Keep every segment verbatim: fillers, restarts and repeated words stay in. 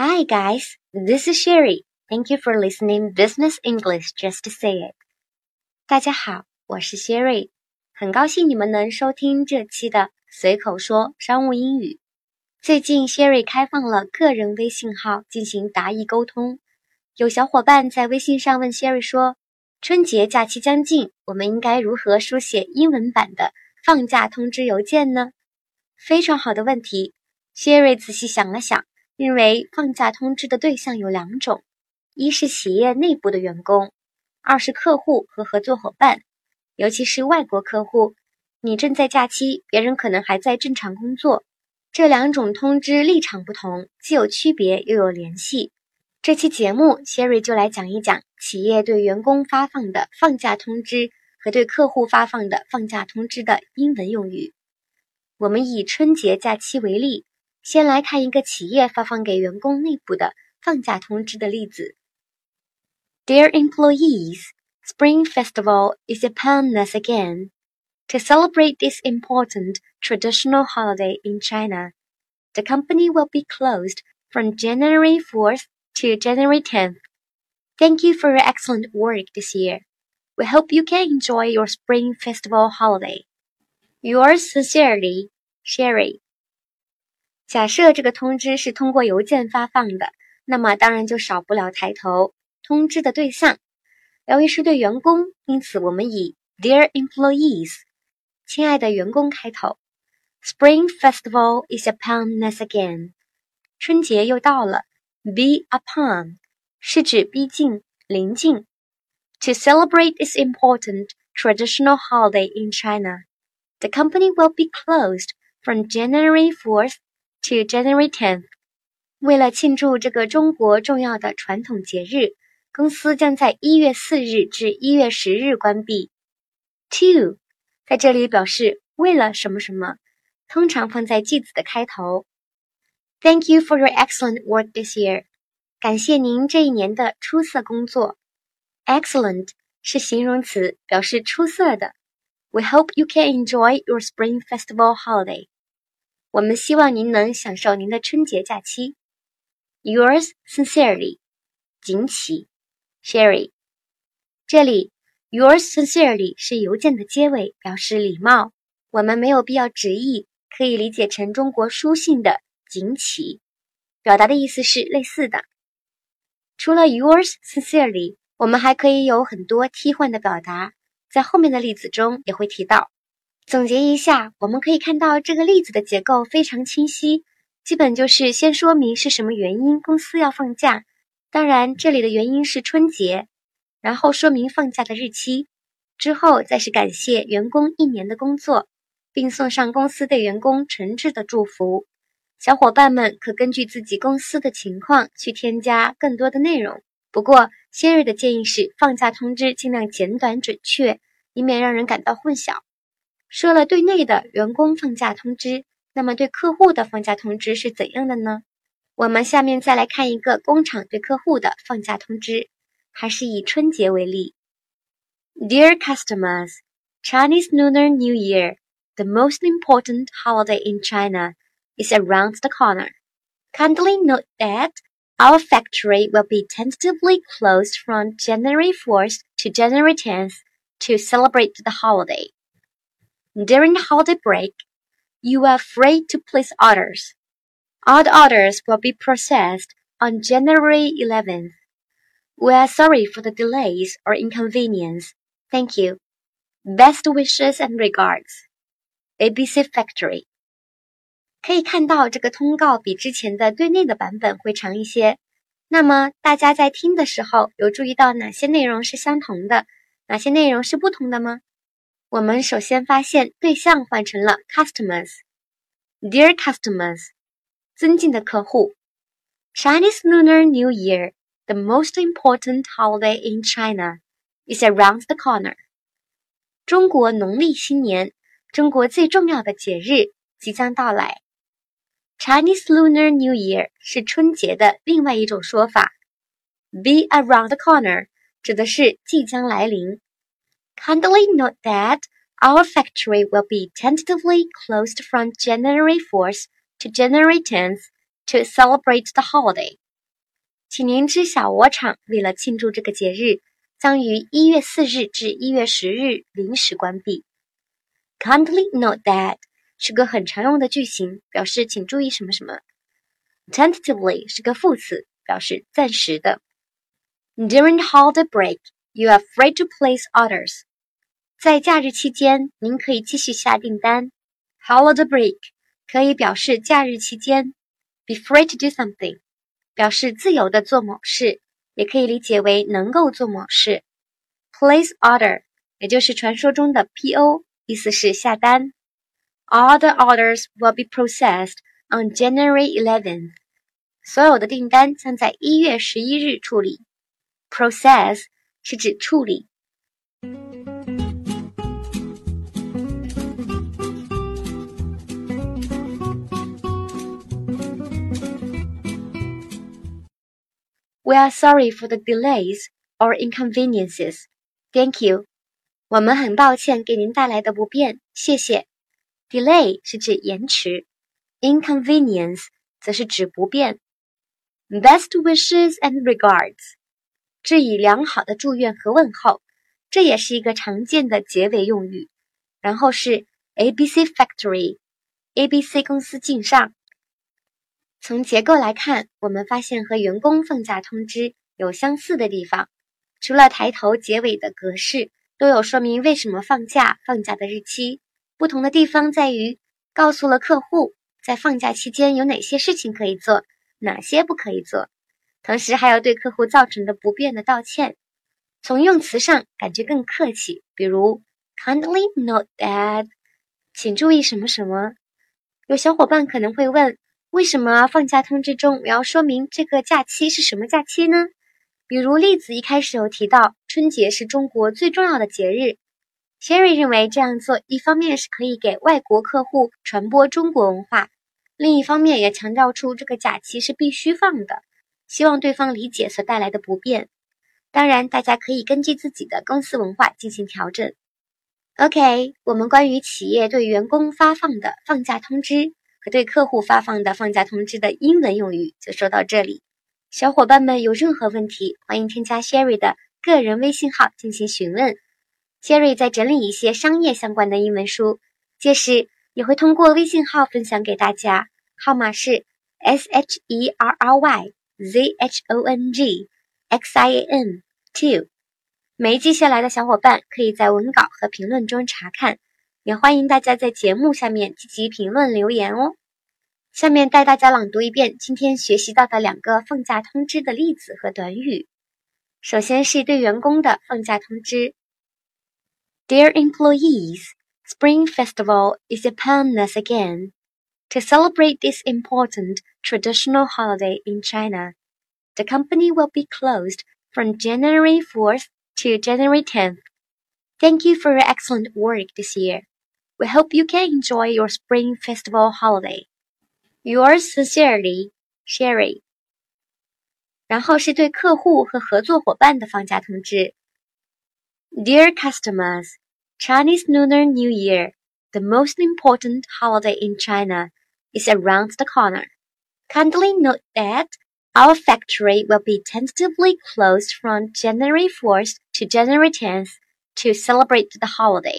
Hi guys, this is Sherry. Thank you for listening Business English Just to Say It. 大家好，我是 Sherry， 很高兴你们能收听这期的随口说商务英语。最近 Sherry 开放了个人微信号进行答疑沟通，有小伙伴在微信上问 Sherry 说，春节假期将近，我们应该如何书写英文版的放假通知邮件呢？非常好的问题。 Sherry 仔细想了想，认为放假通知的对象有两种，一是企业内部的员工，二是客户和合作伙伴，尤其是外国客户，你正在假期，别人可能还在正常工作。这两种通知立场不同，既有区别又有联系。这期节目 Sherry 就来讲一讲企业对员工发放的放假通知和对客户发放的放假通知的英文用语。我们以春节假期为例，先来看一个企业发放给员工内部的放假通知的例子。 Dear employees, Spring Festival is upon us again. To celebrate this important traditional holiday in China, the company will be closed from January fourth to January tenth. Thank you for your excellent work this year. We hope you can enjoy your Spring Festival holiday. Yours sincerely, Sherry. 假设这个通知是通过邮件发放的，那么当然就少不了抬头，通知的对象。由于是对员工，因此我们以 Dear employees 亲爱的员工开头。 Spring Festival is upon us again. 春节又到了。 Be upon 是指逼近、临近。 To celebrate this important traditional holiday in China, the company will be closed from January fourth to January tenth. 为了庆祝这个中国重要的传统节日，公司将在一月四日至一月十日关闭。 To 在这里表示为了什么什么，通常放在句子的开头。 Thank you for your excellent work this year. 感谢您这一年的出色工作。 Excellent 是形容词，表示出色的。 We hope you can enjoy your Spring Festival holiday. 我们希望您能享受您的春节假期。 Yours sincerely, 锦起 Sherry. 这里 Yours sincerely 是邮件的结尾，表示礼貌，我们没有必要直译，可以理解成中国书信的锦起，表达的意思是类似的。除了 Yours sincerely， 我们还可以有很多替换的表达，在后面的例子中也会提到。总结一下，我们可以看到这个例子的结构非常清晰，基本就是先说明是什么原因公司要放假，当然这里的原因是春节，然后说明放假的日期，之后再是感谢员工一年的工作，并送上公司对员工诚挚的祝福。小伙伴们可根据自己公司的情况去添加更多的内容，不过先瑞的建议是放假通知尽量简短准确，以免让人感到混淆。说了对内的员工放假通知，那么对客户的放假通知是怎样的呢？我们下面再来看一个工厂对客户的放假通知，还是以春节为例。 Dear customers, Chinese Lunar New Year, the most important holiday in China, is around the corner. Kindly note that our factory will be tentatively closed from January fourth to January tenth to celebrate the holiday. During the holiday break, you are free to place orders. All the orders will be processed on January eleventh. We are sorry for the delays or inconvenience. Thank you. Best wishes and regards. A B C Factory. 可以看到这个通告比之前的对内的版本会长一些。那么大家在听的时候有注意到哪些内容是相同的，哪些内容是不同的吗？我们首先发现对象换成了 customers. Dear customers, 尊敬的客户。 Chinese Lunar New Year, the most important holiday in China, is around the corner. 中国农历新年，中国最重要的节日即将到来。 Chinese Lunar New Year 是春节的另外一种说法。 Be around the corner 指的是即将来临。Kindly note that our factory will be tentatively closed from January fourth to January tenth to celebrate the holiday. 请您知小鹅厂为了庆祝这个节日，将于一月四日至一月十日临时关闭。Kindly note that 是个很常用的句型，表示请注意什么什么。Tentatively 是个副词，表示暂时的。During the holiday break, you are free to place orders. 在假日期间，您可以继续下订单。Holiday break 可以表示假日期间。Be free to do something 表示自由的做某事，也可以理解为能够做某事。Place order 也就是传说中的 P O， 意思是下单。All the orders will be processed on January eleventh. 所有的订单将在一月十一日处理。Process 是指处理。We are sorry for the delays or inconveniences. Thank you. 我们很抱歉给您带来的不便，谢谢。Delay 是指延迟 ，inconvenience 则是指不便。Best wishes and regards 致以良好的祝愿和问候，这也是一个常见的结尾用语。然后是 A B C Factory，A B C 公司敬上。从结构来看，我们发现和员工放假通知有相似的地方，除了抬头结尾的格式都有说明为什么放假、放假的日期，不同的地方在于告诉了客户在放假期间有哪些事情可以做，哪些不可以做，同时还有对客户造成的不便的道歉。从用词上感觉更客气，比如 Kindly note that 请注意什么什么。有小伙伴可能会问，为什么放假通知中我要说明这个假期是什么假期呢？比如例子一开始有提到春节是中国最重要的节日， Sherry 认为这样做一方面是可以给外国客户传播中国文化，另一方面也强调出这个假期是必须放的，希望对方理解所带来的不便。当然大家可以根据自己的公司文化进行调整。 OK， 我们关于企业对员工发放的放假通知和对客户发放的放假通知的英文用语就说到这里。小伙伴们有任何问题，欢迎添加 Sherry 的个人微信号进行询问。Sherry 在整理一些商业相关的英文书，届时也会通过微信号分享给大家，号码是 S H E R R Y Z H O N G X I A N two。 没记下来的小伙伴可以在文稿和评论中查看，也欢迎大家在节目下面积极评论留言哦。下面带大家朗读一遍今天学习到的两个放假通知的例子和短语。首先是对员工的放假通知。 Dear employees, Spring Festival is upon us again. To celebrate this important traditional holiday in China, the company will be closed from January fourth to January tenth. Thank you for your excellent work this year. We hope you can enjoy your Spring Festival holiday. Yours sincerely, Sherry. 然后是对客户和合作伙伴的放假通知。 Dear customers, Chinese Lunar New Year, the most important holiday in China, is around the corner. Kindly note that our factory will be tentatively closed from January fourth to January tenth to celebrate the holiday.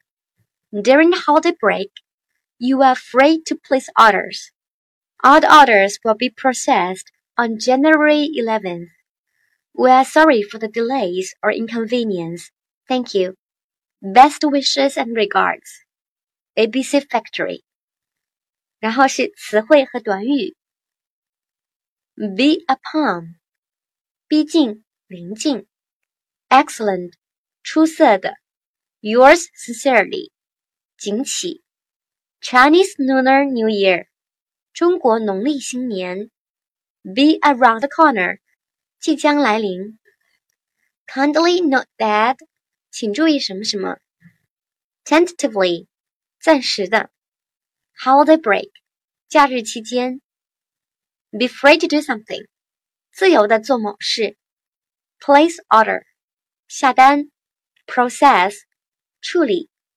During the holiday break, you are free to place orders. All the orders will be processed on January eleventh. We are sorry for the delays or inconvenience. Thank you. Best wishes and regards. A B C Factory. 然后是词汇和短语。Be upon 逼近临近。Excellent 出色的。Yours sincerely 谨启。Chinese Lunar New Year 中国农历新年。Be around the corner 即将来临。Kindly note that 请注意什么什么。Tentatively 暂时的。Holiday break 假日期间。Be free to do something 自由的做某事。Place order 下单。Process 处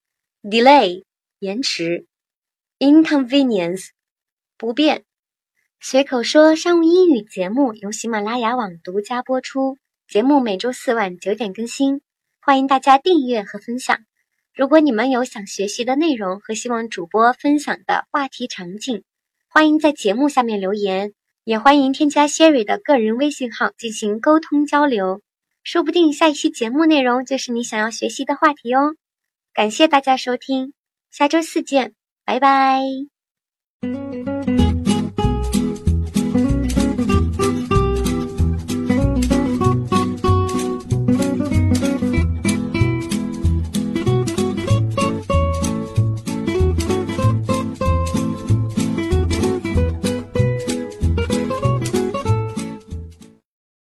理。Delay 延迟。Inconvenience 不便。 随口说商务英语节目由喜马拉雅网独家播出，节目每周四晚九点更新，欢迎大家订阅和分享。如果你们有想学习的内容和希望主播分享的话题场景，欢迎在节目下面留言，也欢迎添加 Sherry 的个人微信号进行沟通交流，说不定下一期节目内容就是你想要学习的话题哦。感谢大家收听，下周四见，拜拜。